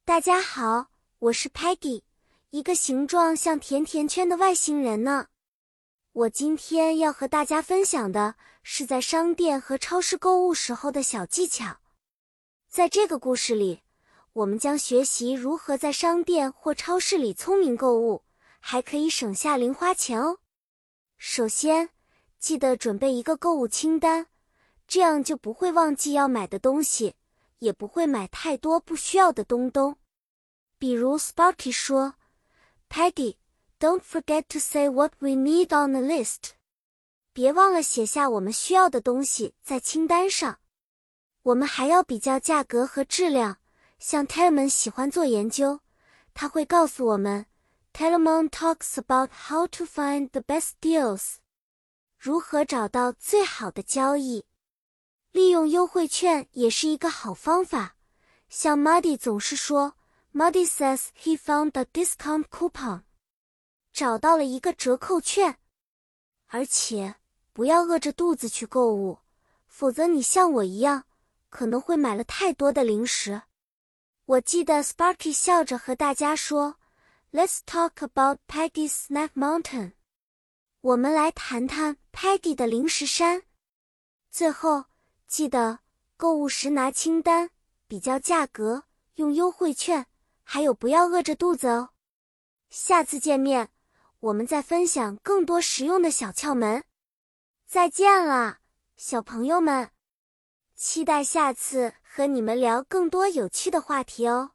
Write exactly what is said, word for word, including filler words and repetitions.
大家好，我是 Peggy， 一个形状像甜甜圈的外星人呢。我今天要和大家分享的是在商店和超市购物时候的小技巧。在这个故事里，我们将学习如何在商店或超市里聪明购物，还可以省下零花钱哦。首先，记得准备一个购物清单，这样就不会忘记要买的东西，也不会买太多不需要的东东。比如 Sparky 说 Peggy, don't forget to say what we need on the list. 别忘了写下我们需要的东西在清单上。我们还要比较价格和质量，像 Telemon 喜欢做研究，他会告诉我们 Telemon talks about how to find the best deals. 如何找到最好的交易。利用优惠券也是一个好方法，像 Muddy 总是说Muddy says he found a discount coupon. 找到了一个折扣券。而且，不要饿着肚子去购物，否则你像我一样，可能会买了太多的零食。我记得 Sparky 笑着和大家说 Let's talk about Peggy's Snack Mountain. 我们来谈谈 Peggy 的零食山。最后，记得购物时拿清单，比较价格，用优惠券，还有不要饿着肚子哦。下次见面，我们再分享更多实用的小窍门。再见了，小朋友们！期待下次和你们聊更多有趣的话题哦。